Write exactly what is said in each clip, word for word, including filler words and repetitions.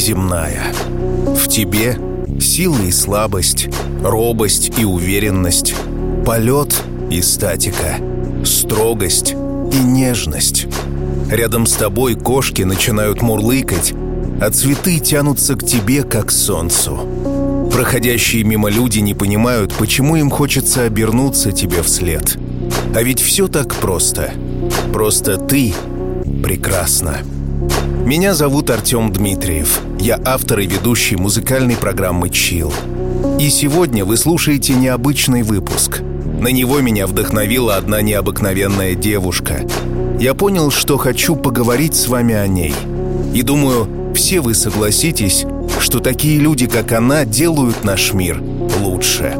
неземная. В тебе сила и слабость, робость и уверенность, полет и статика, строгость и нежность. Рядом с тобой кошки начинают мурлыкать, а цветы тянутся к тебе, как к солнцу. Проходящие мимо люди не понимают, почему им хочется обернуться тебе вслед. А ведь все так просто. Просто ты прекрасна. Меня зовут Артем Дмитриев. Я автор и ведущий музыкальной программы «Чилл». И сегодня вы слушаете необычный выпуск. На него меня вдохновила одна необыкновенная девушка. Я понял, что хочу поговорить с вами о ней. И думаю, все вы согласитесь, что такие люди, как она, делают наш мир лучше.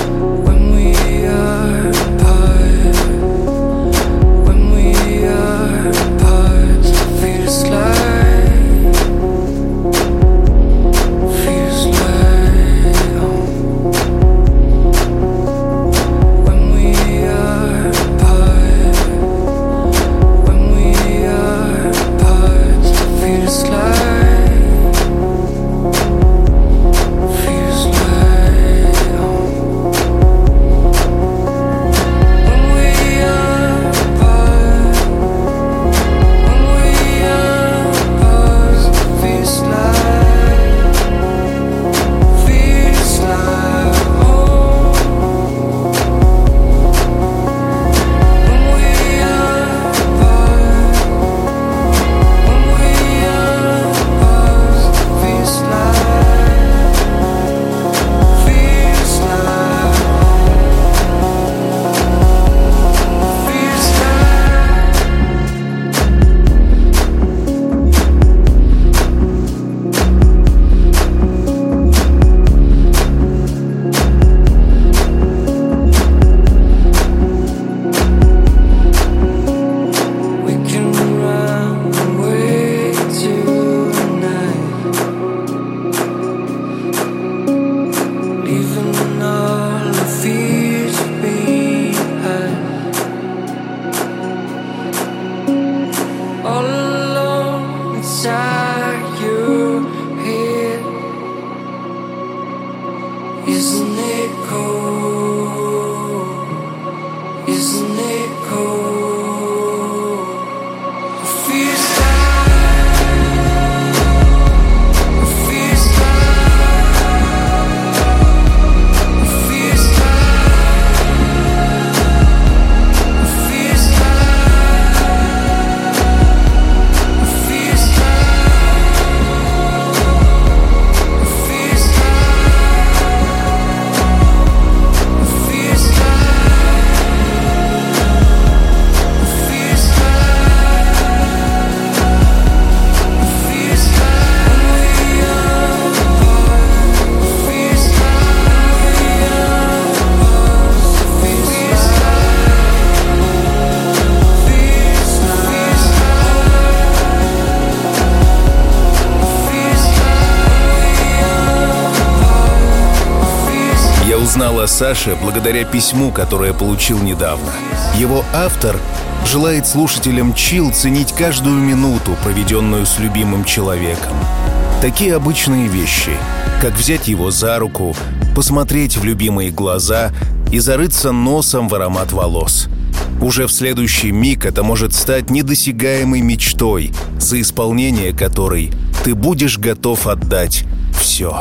Узнал о Саше благодаря письму, которое получил недавно. Его автор желает слушателям «Чилл» ценить каждую минуту, проведенную с любимым человеком. Такие обычные вещи, как взять его за руку, посмотреть в любимые глаза и зарыться носом в аромат волос. Уже в следующий миг это может стать недосягаемой мечтой, за исполнение которой ты будешь готов отдать все.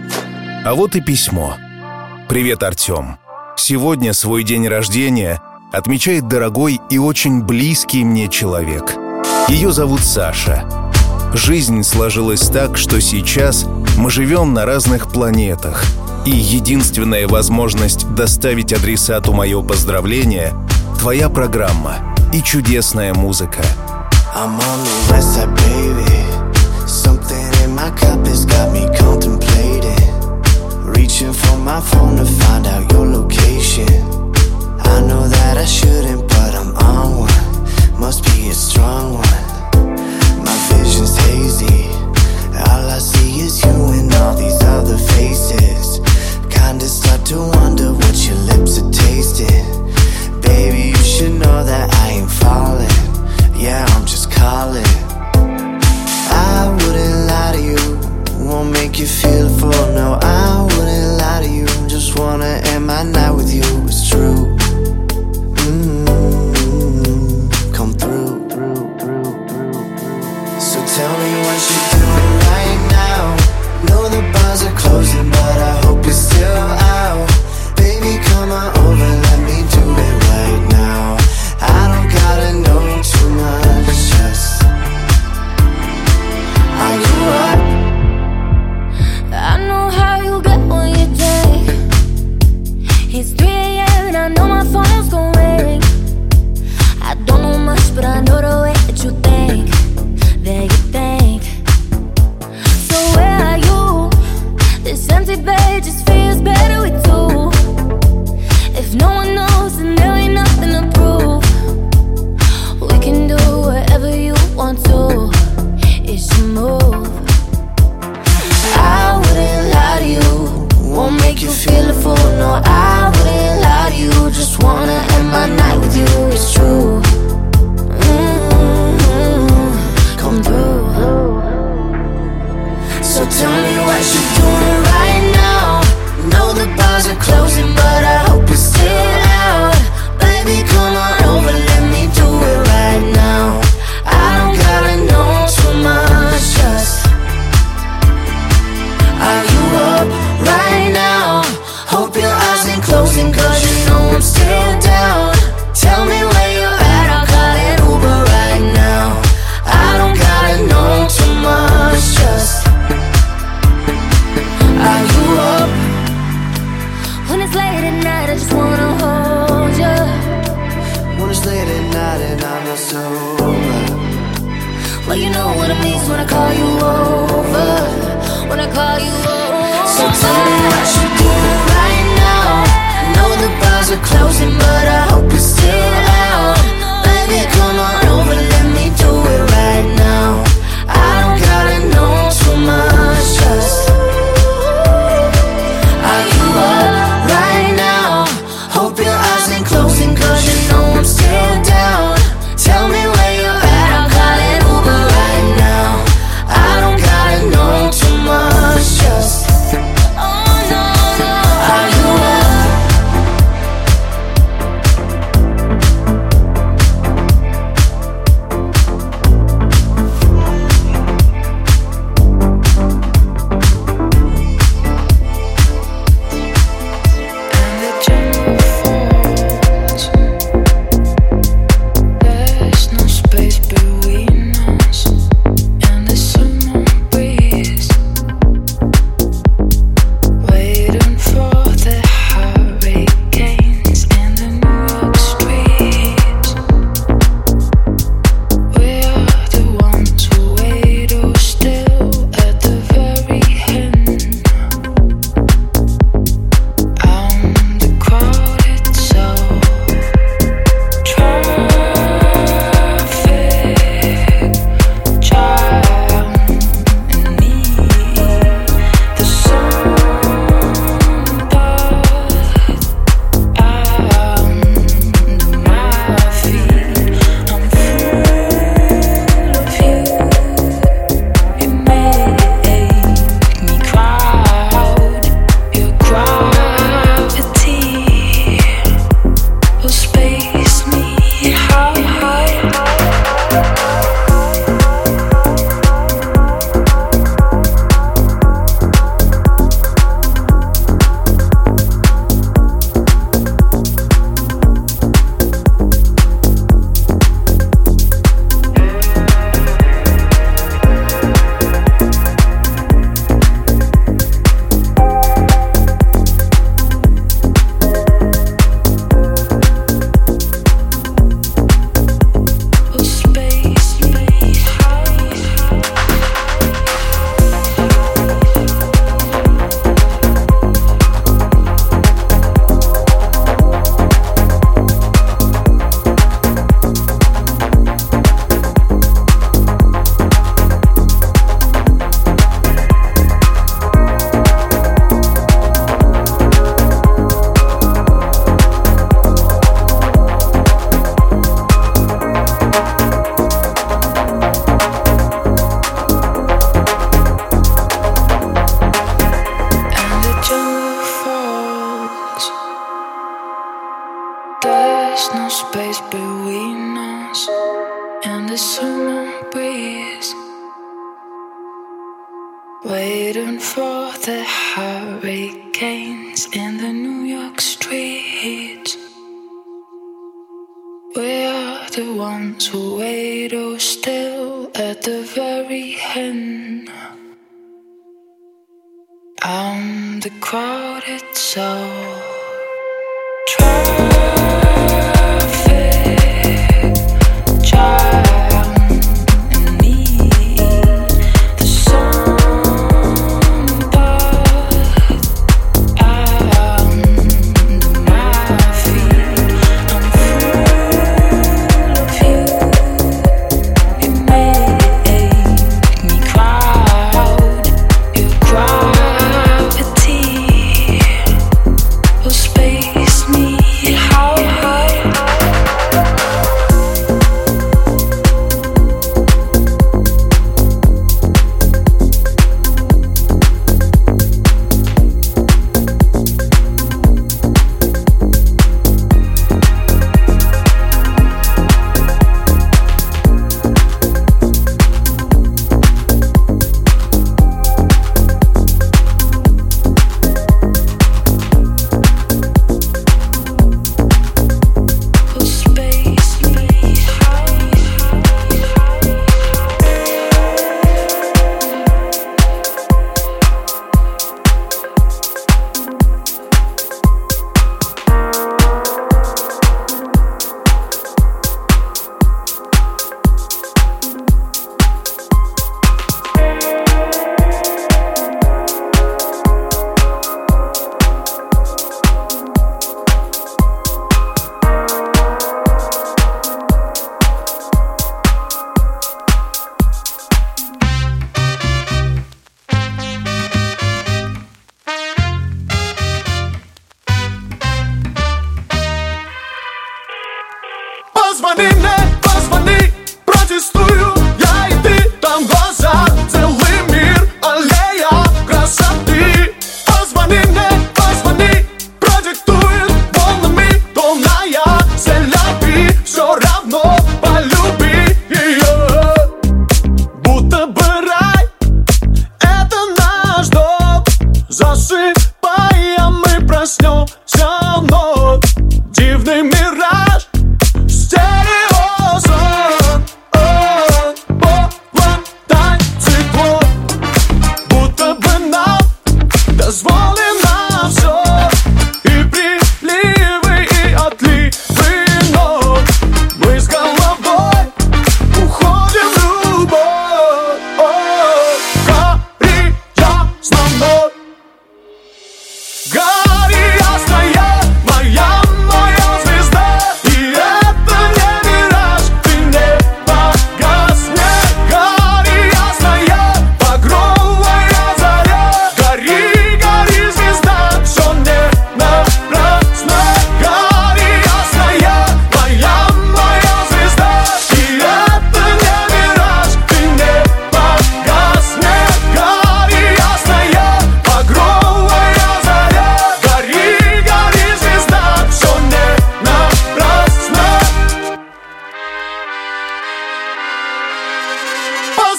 А вот и письмо. «Привет, Артем. Сегодня свой день рождения отмечает дорогой и очень близкий мне человек. Ее зовут Саша. Жизнь сложилась так, что сейчас мы живем на разных планетах, и единственная возможность доставить адресату мое поздравление — твоя программа и чудесная музыка». I'm on the west side, baby. Something in my cup has got me contemplating. Reaching for my phone to find out your location. I know that I shouldn't, but I'm on one. Must be a strong one. My vision's hazy. All I see is you and all these other faces. Kinda start to wonder what your lips are tasting. Baby, you should know that I ain't falling. Yeah, I'm just calling. I wouldn't lie to you Well, you know what it means when I call you over. When I call you over. So tell me what you do right now. I know the bars are closing, but I hope you're still out. Baby, come on over, let me do it right now. I don't gotta know too much, just are you up right now? Hope your eyes ain't closing, cause you know I'm still down. Tell me where you're at, I'm calling Uber right now. I don't gotta know too much, just oh no, no. Are you up? Waiting for the hurricanes in the New York streets. We are the ones who wait oh still at the very end. I'm the crowded soul. Traffic jam.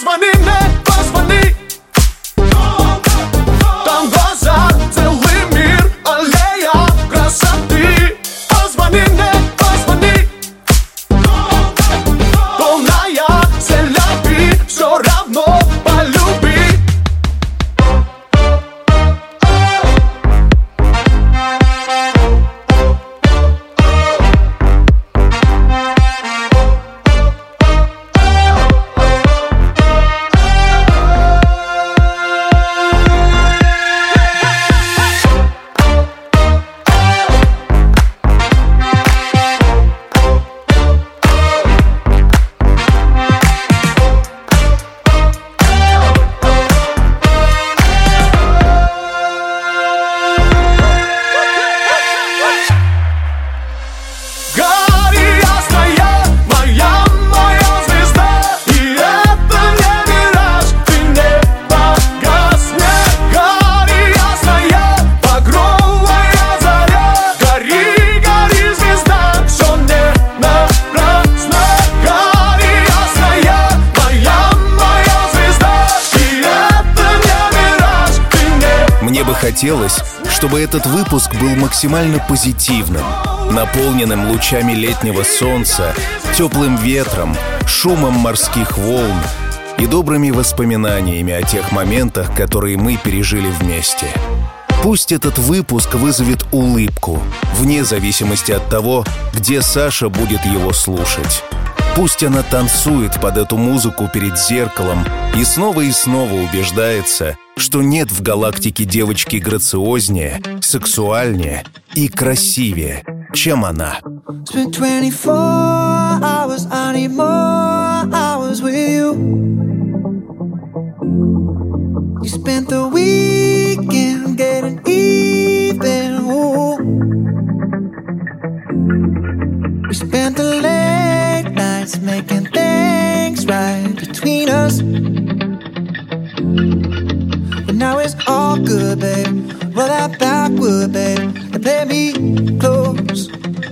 Позвони мне, позвони. Там глаза, целый мир, аллея красоты. Позвони мне, позвони. Полная селяби, все равно полюби. Хотелось, чтобы этот выпуск был максимально позитивным, наполненным лучами летнего солнца, теплым ветром, шумом морских волн и добрыми воспоминаниями о тех моментах, которые мы пережили вместе. Пусть этот выпуск вызовет улыбку, вне зависимости от того, где Саша будет его слушать. Пусть она танцует под эту музыку перед зеркалом и снова и снова убеждается, что нет в галактике девочки грациознее, сексуальнее и красивее, чем она. Making things right between us. But now it's all good, babe. Roll that backward, babe, and play me close.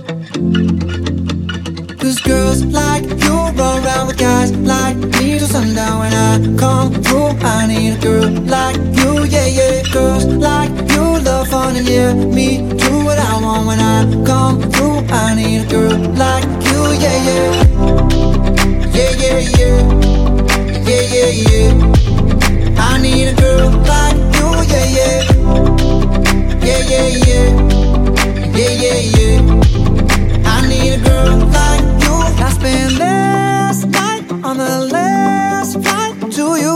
Cause girls like you run around with guys like me till sundown. When I come through, I need a girl like you, yeah, yeah. Girls like you love fun and yeah, me do what I want. When I come through, I need a girl like you, yeah, yeah. Yeah, yeah, yeah, yeah, yeah, yeah. I need a girl like you, yeah, yeah, yeah, yeah, yeah, yeah, yeah, yeah. I need a girl like you. I spent last night on the last flight to you.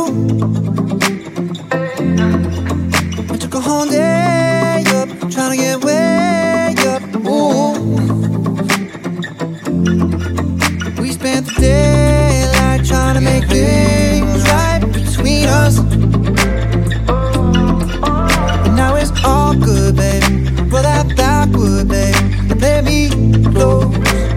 I took a whole day up, trying to get way up. Ooh. We spent the daylight trying to make things right between us. And now it's all good, baby. Roll that backward, baby, and play me close.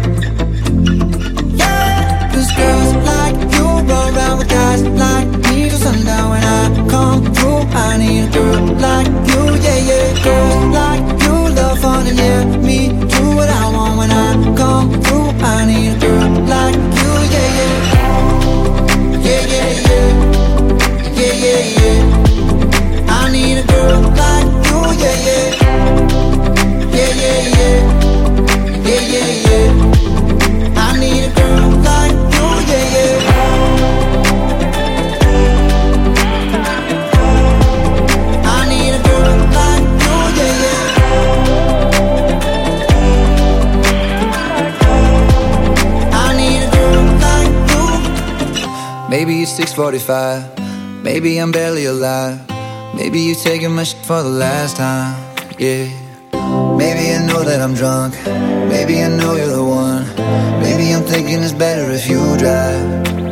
Yeah, cause girls like you run around with guys like me till sundown. When I come through, I need a girl like you, yeah, yeah. Girls like you love fun and yeah, me do what I want. When I come through, I need a girl like you, yeah, yeah. Yeah, yeah, yeah, yeah, yeah, yeah. I need a girl like you, yeah, yeah. Yeah, yeah, yeah, yeah, yeah, yeah. I need a girl like you, yeah, yeah. I need a girl like you, yeah, yeah. I need a girl like you. Maybe it's six forty-five, maybe I'm barely alive. Maybe you taking my shit for the last time, yeah. Maybe I know that I'm drunk, maybe I know you're the one. Maybe I'm thinking it's better if you drive.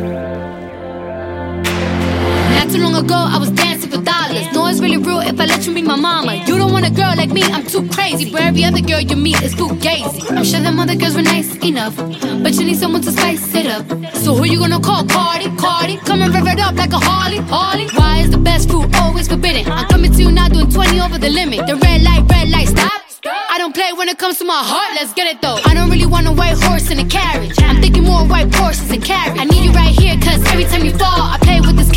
Not too long ago I was dancing for dollars. No, it's really real if I let you be my mama. You don't want a girl like me, I'm too crazy. Where every other girl you meet is fugazi. I'm sure them other girls were nice enough, but you need someone to spice it up. So who you gonna call? Cardi, Cardi, come and rev it up like a Harley, Harley. Why is the best food always forbidden? I'm coming to you now doing twenty over the limit. The red light, red light, stop. I don't play when it comes to my heart, let's get it though. I don't really want a white horse in a carriage, I'm thinking more white Porsches and carriage. I need you right here, cause every time you fall I play with the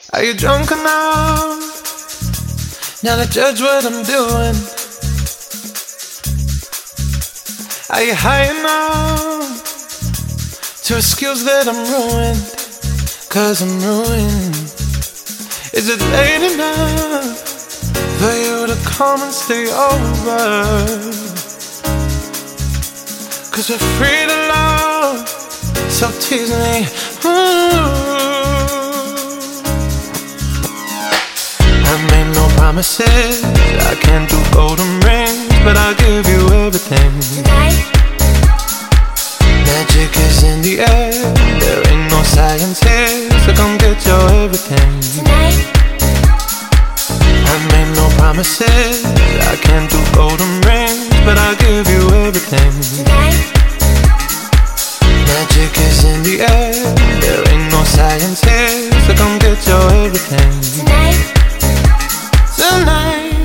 Are you drunk enough now to judge what I'm doing? Are you high enough to excuse that I'm ruined? Cause I'm ruined. Is it late enough for you to come and stay over? Cause we're free to love, so tease me. Ooh. I made no promises, I can't do golden rings, but I'll give you everything. Tonight, magic is in the air, there ain't no science here, so come get your everything. tonight, I made no promises, I can't do golden rings, but I'll give you everything. tonight, Magic is in the air, there ain't no science here, so come get your everything. tonight, Tonight,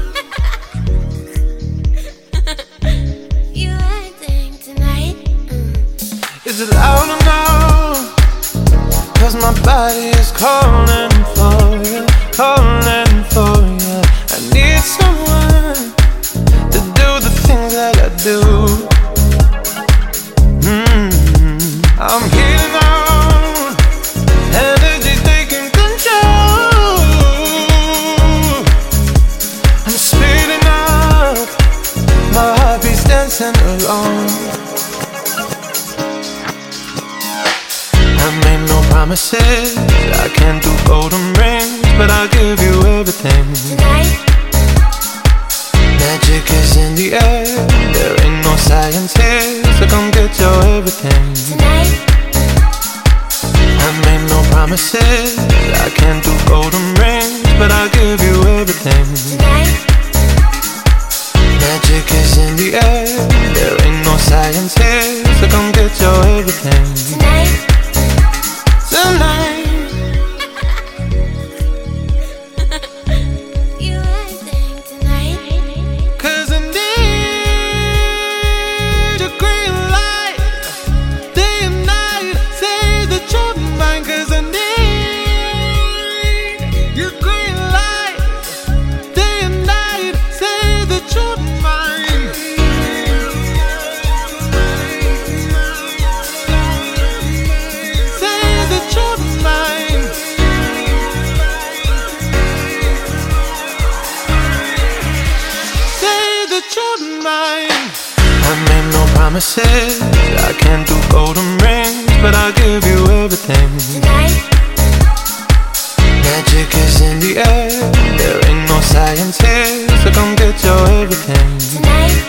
you acting tonight. Mm. is it loud enough? Cause my body is calling for you, calling for you. I need someone to do the things that I do. Mm-hmm. I'm healing out, energy's taking control. I'm speeding up, my heartbeat's dancing alone. I made no promises, I can't do golden rings, but I'll give you everything. Tonight, Magic is in the air, there ain't no science here, so come get your everything. tonight, I made no promises, I can't do golden rings, but I'll give you everything. tonight, Magic is in the air, there ain't no science here, so come get your everything. tonight, Tonight, you acting tonight. cause I need a green light, day and night, say that you're mine. Cause I need your green light, day and night, say that you're mine. Say that you're mine. Say that you're mine. I made no promises, I can't do golden rings, but I'll give you everything. Tonight, Magic is in the air, there ain't no science here, so come get your everything. tonight,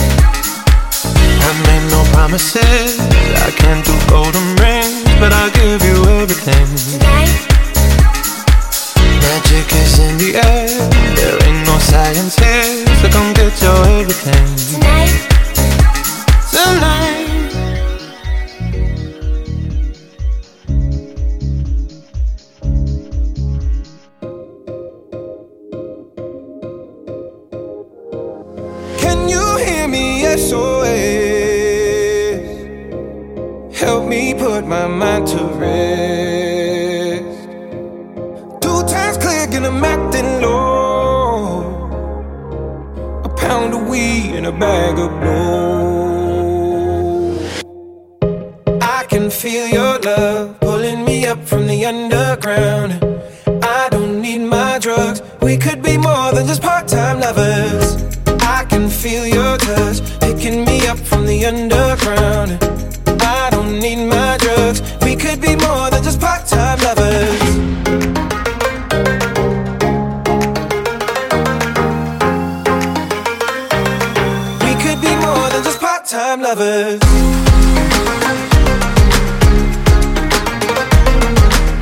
I made no promises, I can't do golden rings, but I'll give you everything. tonight, Magic is in the air, there ain't no science here, so come get your everything. tonight, Tonight, Can you hear me? S O S. Help me put my mind to rest. Two times click and I'm acting low. A pound of weed and a bag of blow. I can feel your love pulling me up from the underground. I don't need my drugs. We could be more than just part-time lovers. I can feel your touch picking me up from the underground. I don't need my drugs. We could be more than just part-time lovers. We could be more than just part-time lovers.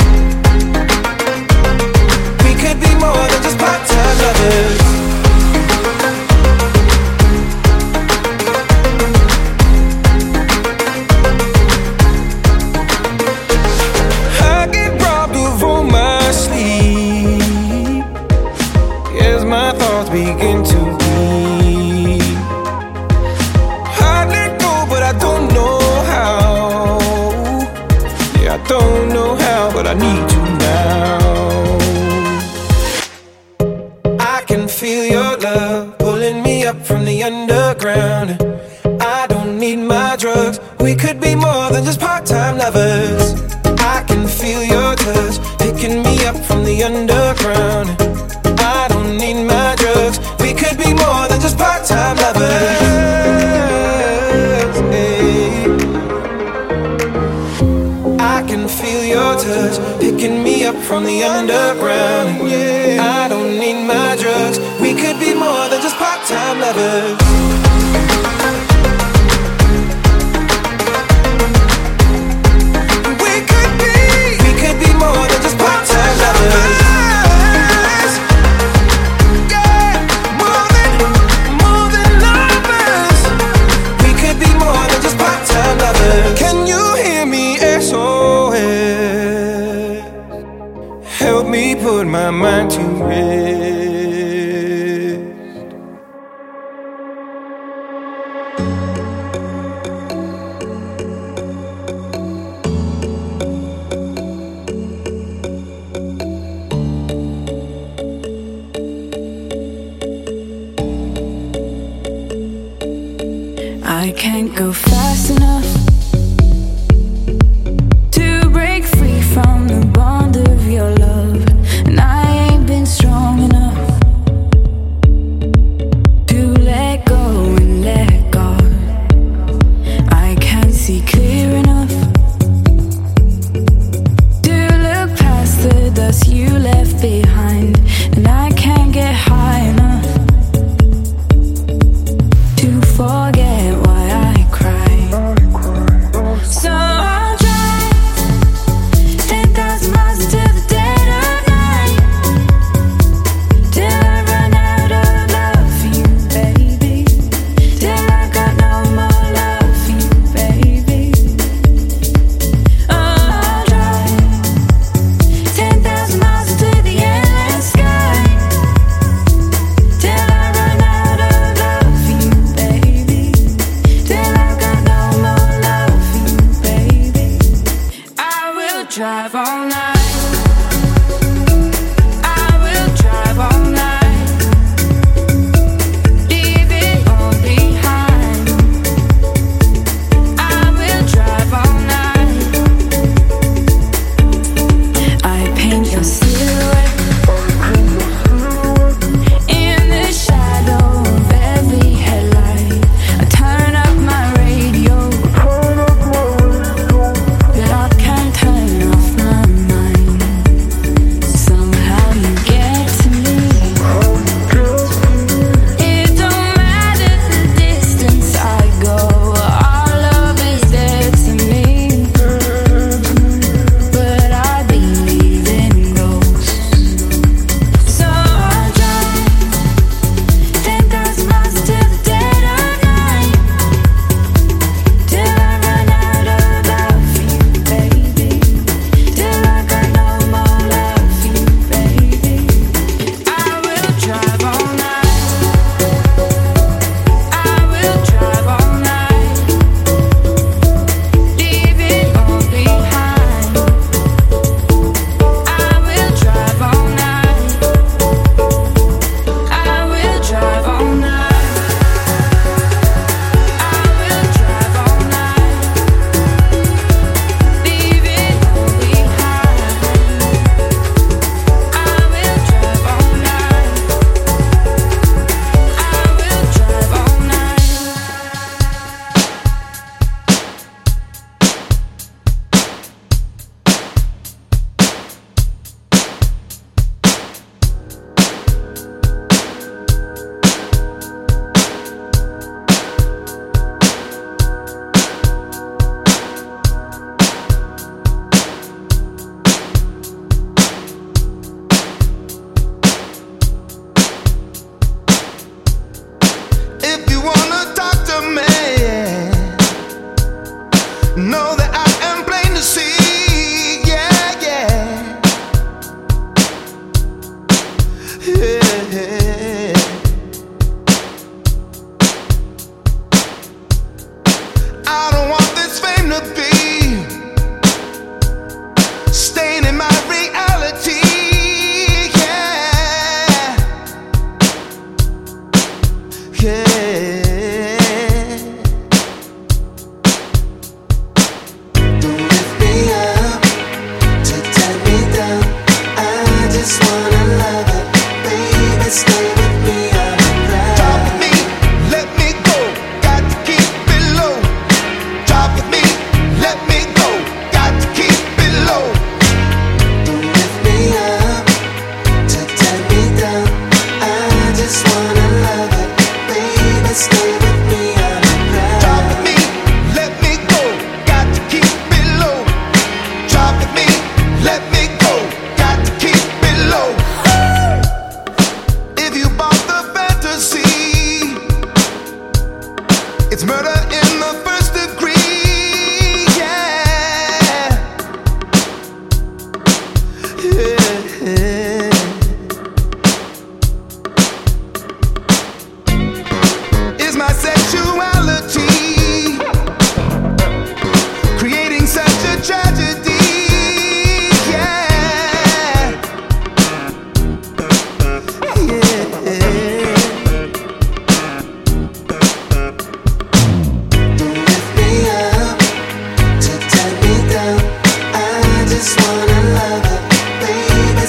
We could be more than just part-time lovers. from the underground. I don't need my drugs. We could be more than just part-time lovers. Hey. I can feel your touch picking me up from the underground. Yeah. I don't need my drugs. We could be more than just part-time lovers. More than just part-time lovers. Yeah, more than, more than lovers. We could be more than just part-time lovers. Can you hear me, S O S? Help me put my mind to rest. I can't go fast enough to break free from the bond of your love, and I ain't been strong enough to let go and let God. I can't see clear enough to look past the dust you left behind, and I can't get high enough to forget why I cry. So I'll drive ten thousand miles into the dead of night till I run out of love for you, baby. Till I got no more love for you, baby. Oh, I'll drive ten thousand miles into the end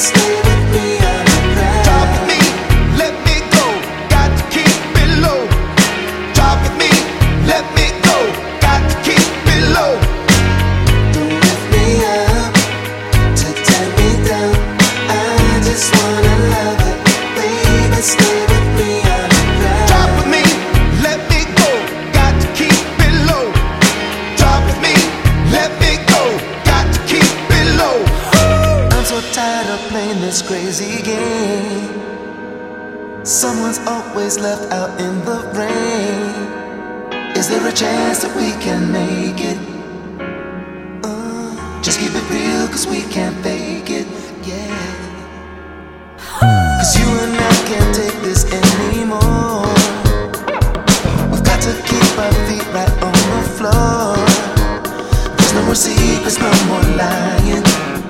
stay with me underground. Talk with me, let me go. Got to keep it low. Talk with me, let me go. Got to keep it low. Don't lift me up to tear me down. I just wanna love it, baby. Stay with me underground. Talk with me, let me go. Got to keep it low. Talk with me, let me go. Got to keep it low. I'm so tired of playing this crazy game. Someone's always left out in the rain. Is there a chance that we can make it? Uh, just keep it real, cause we can't fake it, yeah. Cause you and I can't take this anymore. We've got to keep our feet right on the floor. There's no more secrets, no more lying.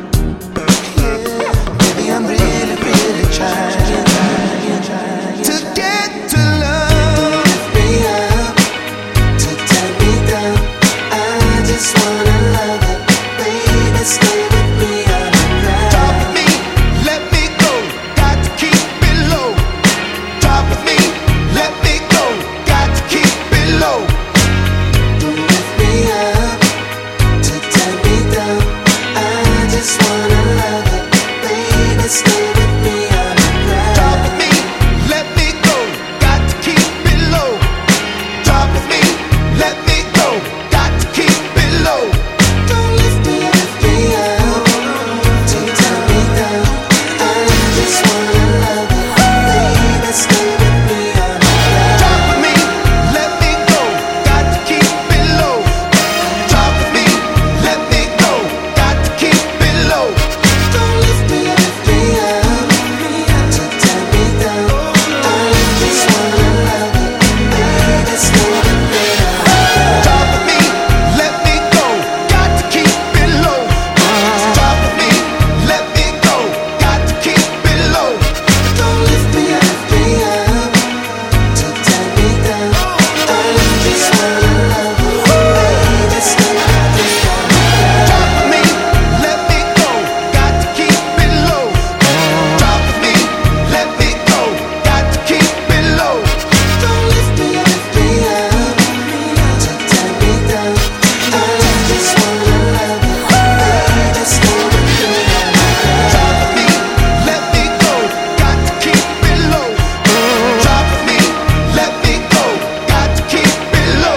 Baby, I'm really, really trying, trying, trying To get to love. lift me up, to tear me down. I just wanna love it, baby. Stay with me underground. Talk with me, let me go. Got to keep it low. Talk with me, let me go. Got to keep it low. Don't lift me up, to tear me down. I just wanna love it, baby. Stay with me underground. Talk with me, let me go. Got to keep it low. Talk with me, let me go. Got to keep it low. Don't lift me, lift me up, to tear me down. I just wanna love it, baby. Stay with me underground. Talk with me, let me go. Got to keep it low. Talk with me, let me go. Got to keep it low. Don't lift me, lift me up, to tear me down. I just wanna love it, baby. Stay with me underground. Talk with me, let me go. Got to keep it low. Talk with me, let me go. Got to keep it low. Don't lift me, lift me up, to tear me down. I just wanna love it, baby. Stay with me underground. Talk with me, let me go. Got to keep it low. Talk with me, let me go. Got to keep it low. Don't lift me, lift me up, to tear me down. I just wanna love it, baby. Stay with me underground. Talk with me, let me go. Got to keep it low. Talk with me, let me go. Got to keep it low.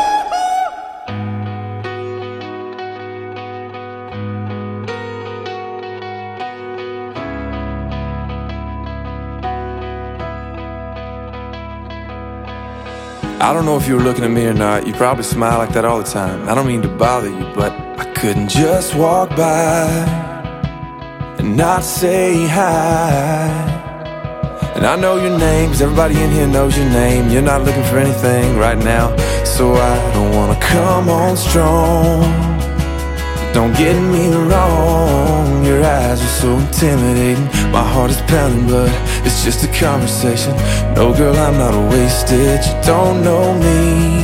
I don't know if you were looking at me or not. You probably smile like that all the time. I don't mean to bother you, but I couldn't just walk by and not say hi. And I know your name, 'cause everybody in here knows your name. You're not looking for anything right now, so I don't wanna come on strong. Don't get me wrong, your eyes are so intimidating. My heart is pounding, but it's just a conversation. No, girl, I'm not wasted. You don't know me,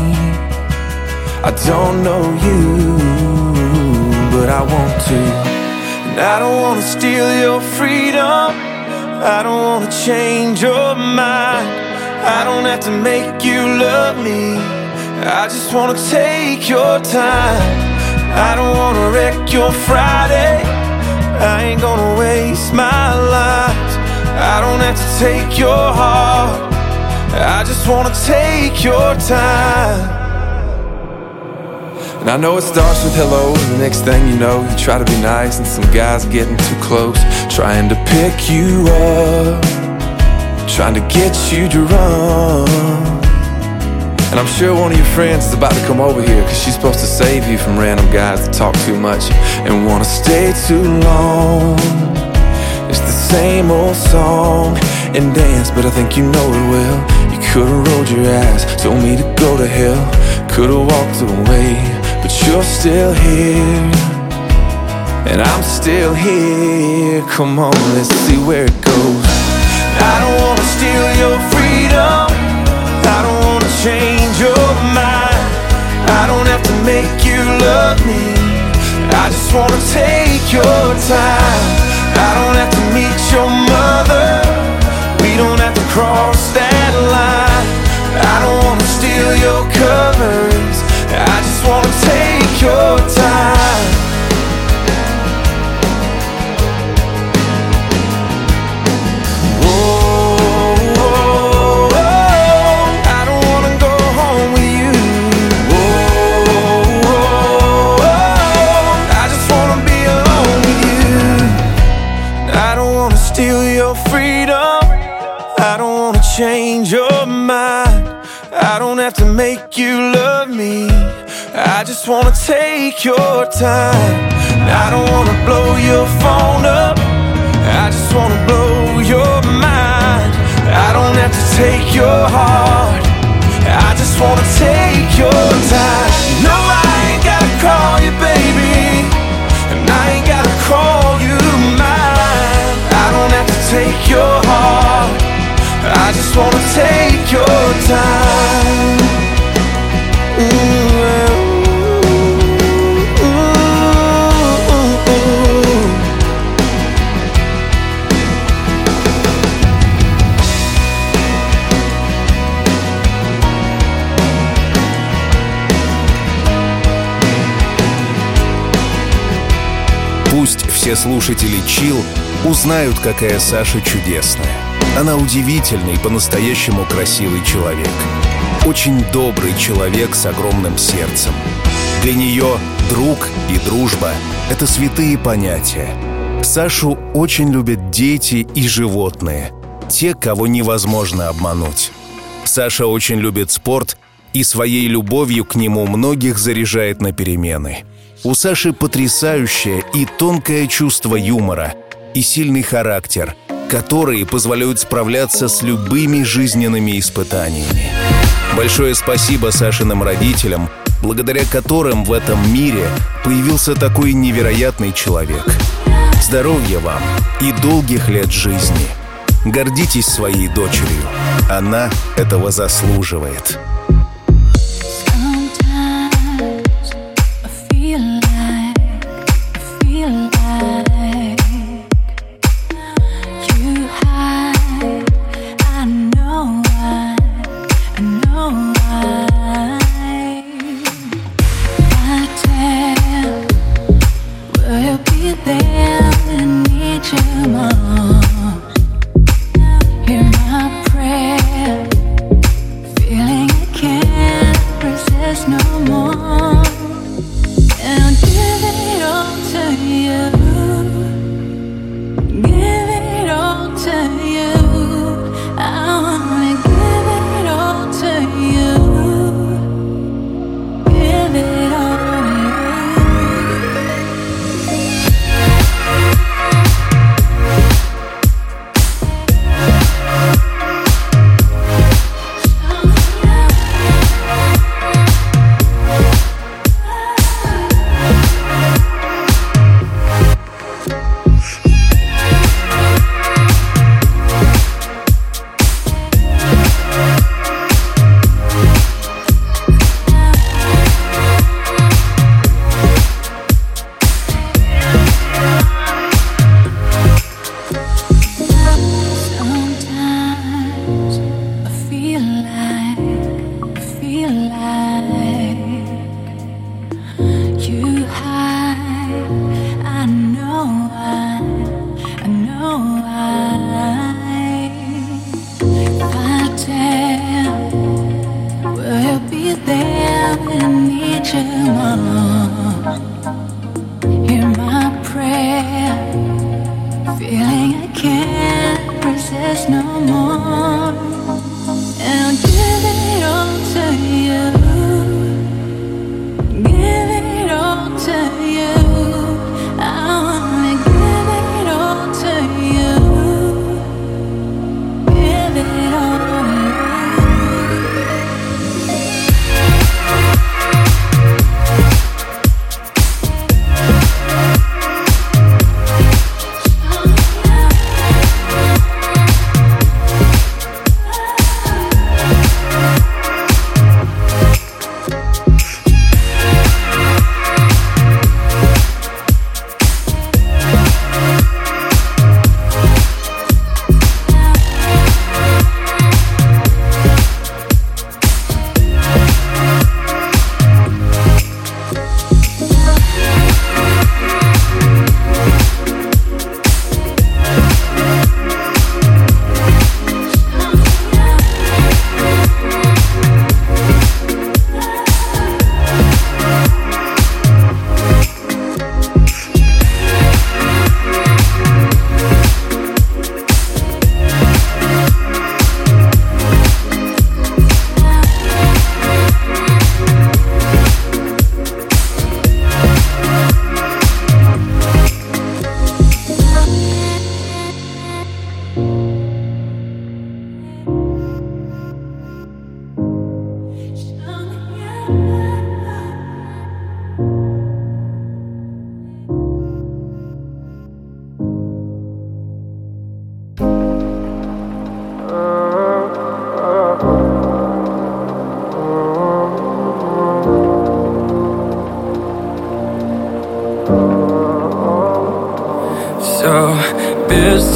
I don't know you, but I want to. And I don't wanna steal your freedom, I don't wanna change your mind. I don't have to make you love me, I just wanna take your time. I don't wanna wreck your Friday, I ain't gonna waste my life. I don't have to take your heart, I just wanna take your time. And I know it starts with hello, and the next thing you know, you try to be nice, and some guy's getting too close, trying to pick you up, trying to get you drunk. And I'm sure one of your friends is about to come over here, 'cause she's supposed to save you from random guys that talk too much and wanna stay too long. It's the same old song and dance, but I think you know it well. You could've rolled your eyes, told me to go to hell, could've walked away, but you're still here, and I'm still here. Come on, let's see where it goes. I don't wanna steal your freedom, I don't wanna change your mind, I don't have to make you love me, I just wanna take your time. I don't have to meet steal your freedom. I don't wanna change your mind. I don't have to make you love me. I just wanna take your time. I don't wanna blow your phone up. I just wanna blow your mind. I don't have to take your heart. I just wanna take your time. No, I ain't gotta call you baby, and I ain't gotta call you mine. I don't have to take your heart. I just wanna take your time. Ooh, ooh, ooh, ooh. Пусть все слушатели Chill узнают, какая Саша чудесная. Она удивительный, по-настоящему красивый человек. Очень добрый человек с огромным сердцем. Для нее друг и дружба — это святые понятия. Сашу очень любят дети и животные, те, кого невозможно обмануть. Саша очень любит спорт и своей любовью к нему многих заряжает на перемены. У Саши потрясающее и тонкое чувство юмора и сильный характер, которые позволяют справляться с любыми жизненными испытаниями. Большое спасибо Сашиным родителям, благодаря которым в этом мире появился такой невероятный человек. Здоровья вам и долгих лет жизни. Гордитесь своей дочерью. Она этого заслуживает.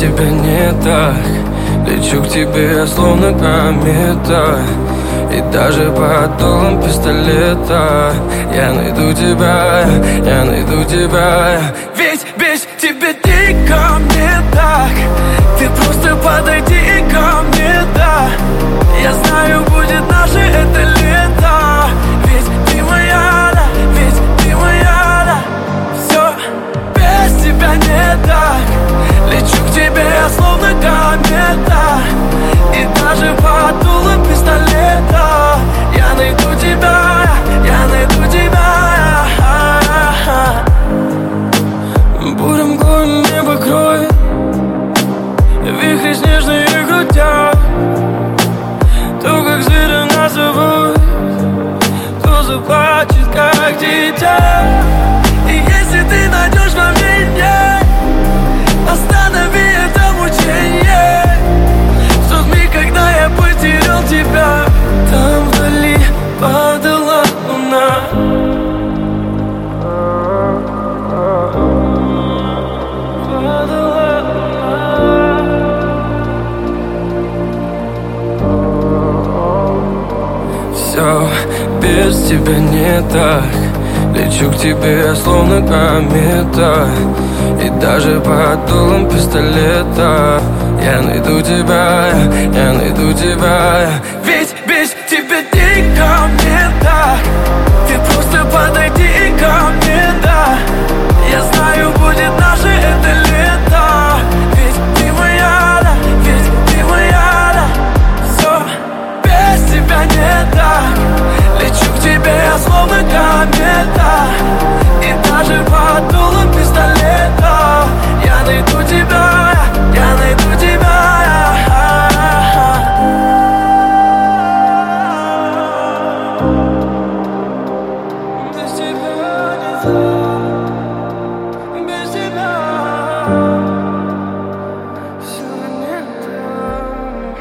тебя не так. Лечу к тебе, словно комета, и даже под дулом пистолета я найду тебя, я найду тебя. Ведь без тебя дико мне так. Ты просто подойди ко мне, да. Я знаю, будет наше это лето. Ведь ты моя, да, ведь ты моя, да. Все без тебя не так. Лечу к тебе, словно комета, и даже под дулом пистолета я найду тебя, я найду тебя. Бурым горем небо кроет, вихри снежные крутят. То, как зверя нас зовут, то заплачет, как дитя. И если ты найдешь во мне, останови это мучение. В тот миг, когда я потерял тебя, там вдали падала луна. Падала луна. Все без тебя не так. Лечу к тебе, словно комета, и даже под дулом пистолета я найду тебя, я найду тебя. Ведь без тебя дико мне так. Ты просто подойди ко мне, да. Я знаю, будет наше это лето. Ведь ты моя, да, ведь ты моя, да. Все без тебя не так. Лечу к тебе, словно комета, и даже под дулом пистолета я найду тебя, я найду тебя. Без тебя не так, без тебя все не так.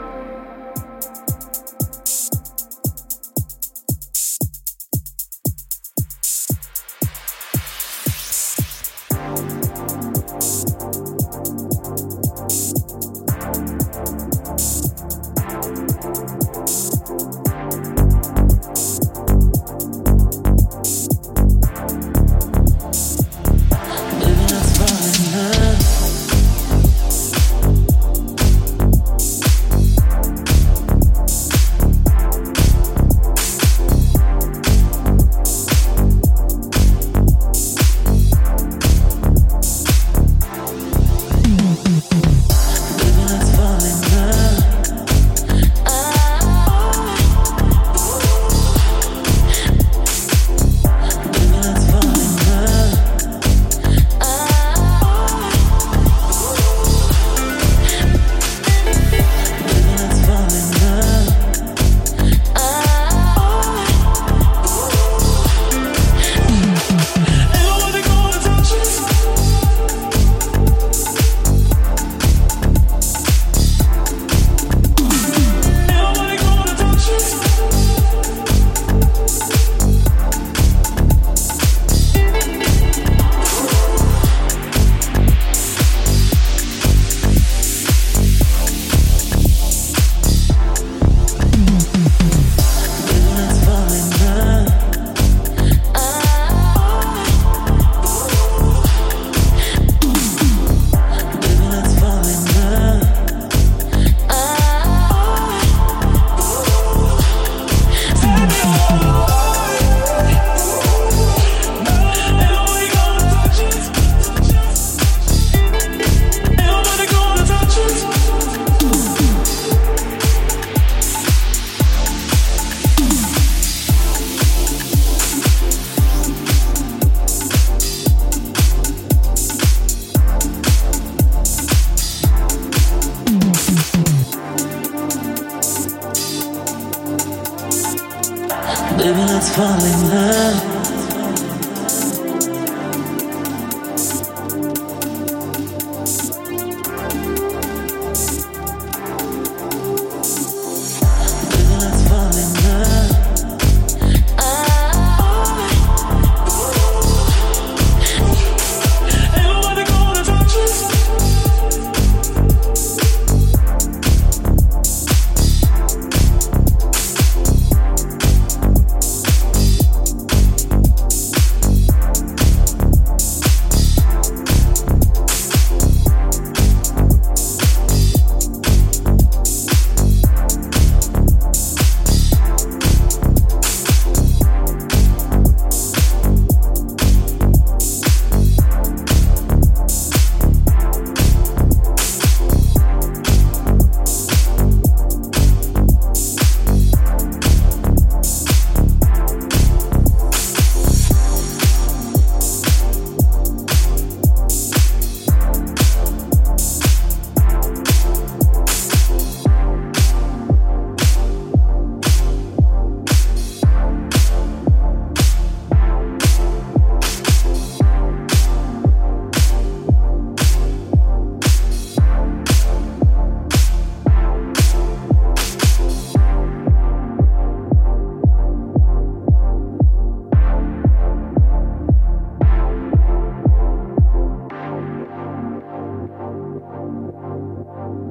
Baby, let's fall in love.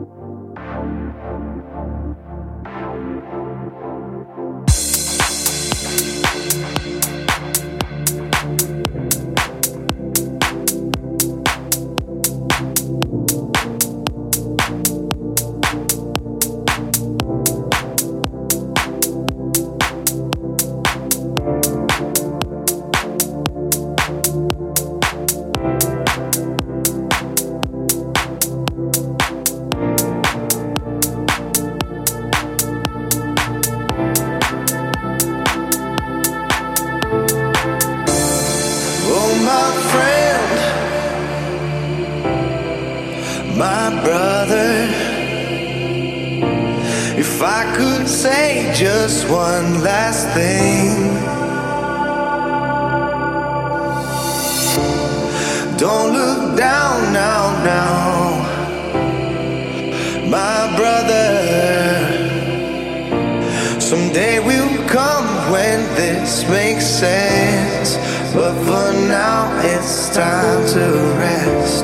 Just one last thing. Don't look down now, now, my brother. Someday will come when this makes sense, but for now it's time to rest.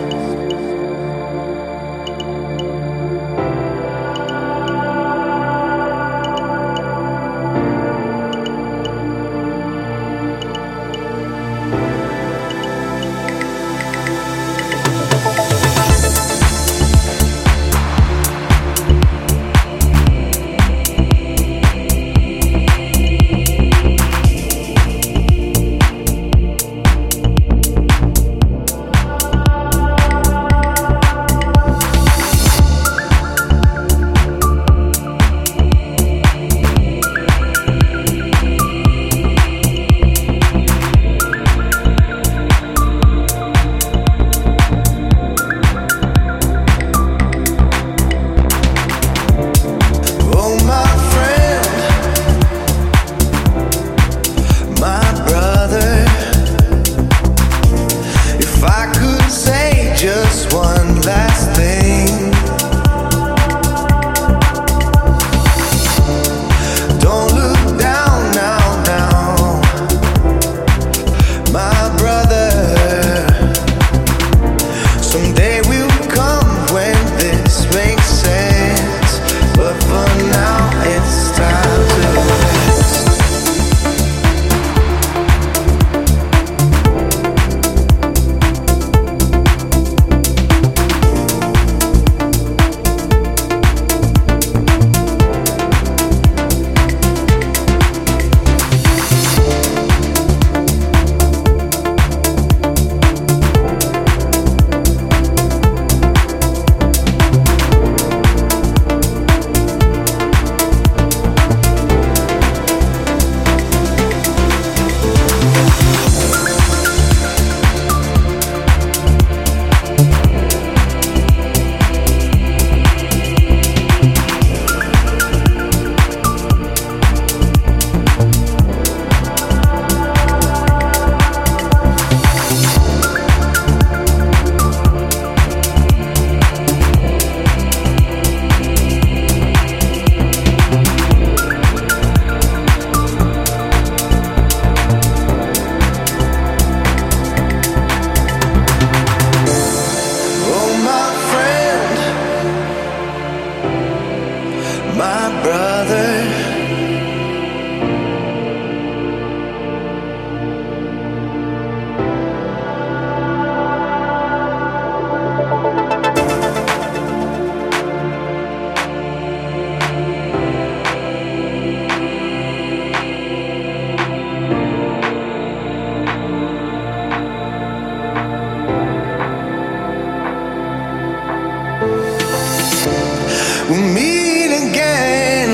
We'll meet again.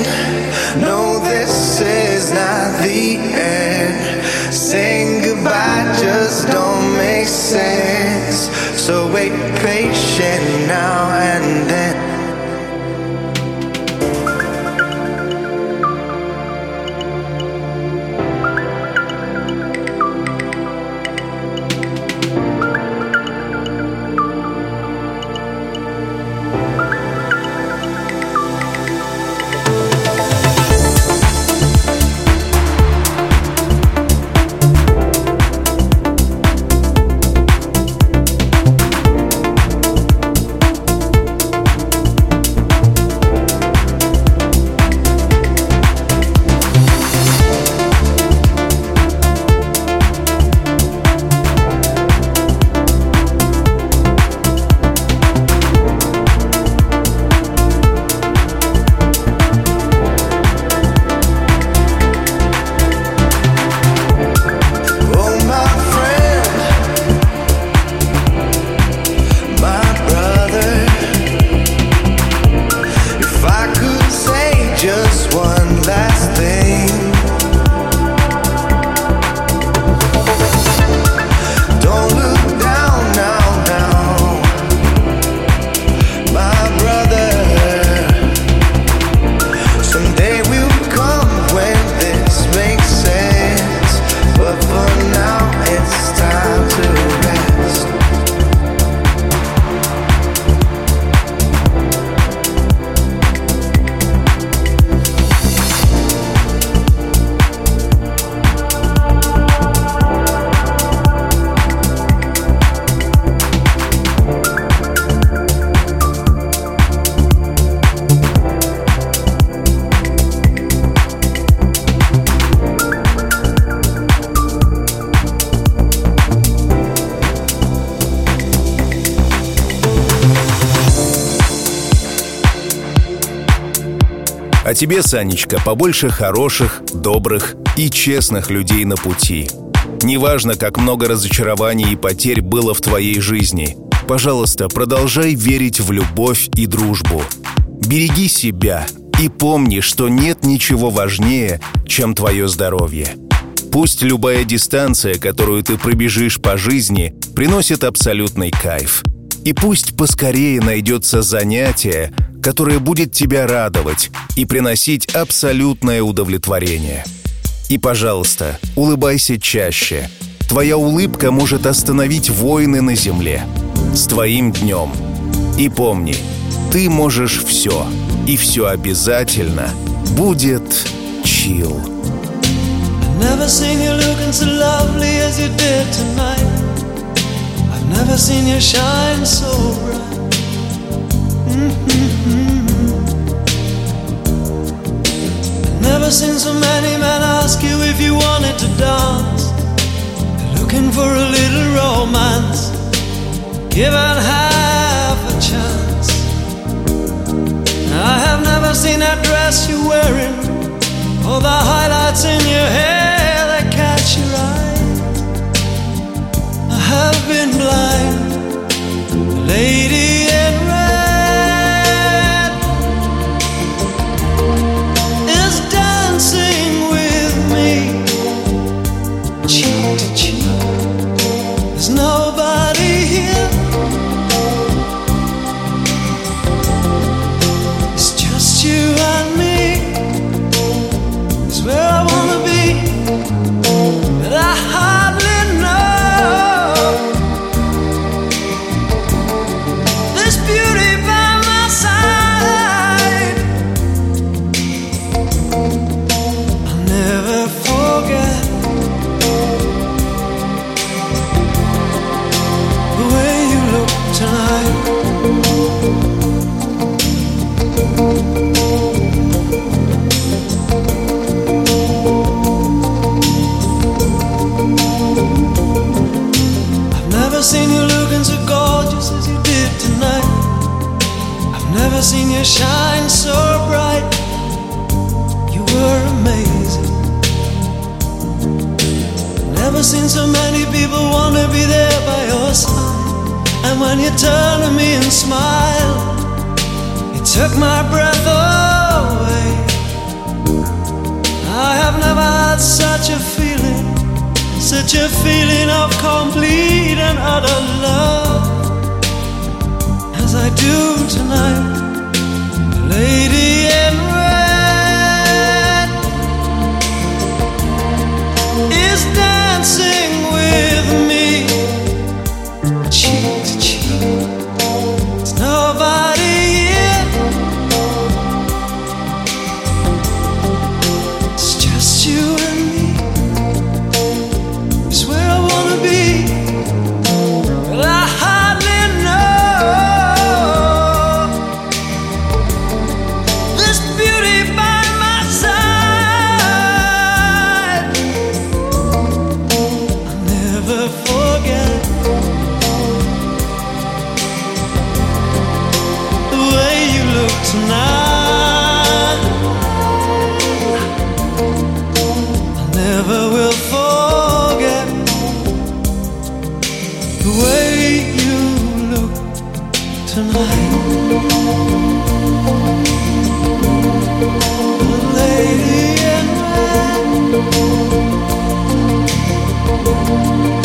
No, this is not the end. Saying goodbye just don't make sense. So wait patient now and then. А тебе, Санечка, побольше хороших, добрых и честных людей на пути. Неважно, как много разочарований и потерь было в твоей жизни, пожалуйста, продолжай верить в любовь и дружбу. Береги себя и помни, что нет ничего важнее, чем твое здоровье. Пусть любая дистанция, которую ты пробежишь по жизни, приносит абсолютный кайф. И пусть поскорее найдется занятие, которое будет тебя радовать и приносить абсолютное удовлетворение. И, пожалуйста, улыбайся чаще. Твоя улыбка может остановить войны на земле. С твоим днем. И помни, ты можешь все. И все обязательно будет чил. Never seen you looking so lovely as you did tonight. I've never seen you shine so bright. Mm-hmm. I've never seen so many men ask you if you wanted to dance. They're looking for a little romance, given half a chance. I have never seen that dress you're wearing, or the highlights in your hair that catch your eye. I have been blind. The lady in red is dancing with me, cheek to cheek. There's nobody here. It's just you and me. Where I wanna be, but I hardly know. This beauty by my side, I'll never forget the way you look tonight. Never seen you looking so gorgeous as you did tonight. I've never seen you shine so bright. You were amazing. Never seen so many people want to be there by your side. And when you turn to me and smile, it took my breath away. I have never had such a feeling, such a feeling of complete and utter love as I do tonight. The lady in red is dancing with me, cheek to cheek. There's nobody here. It's just you and me. Where I wanna be, but I hardly know. This beauty by my side, I'll never forget the way you look tonight. I never will forget the way you look tonight. The lady in red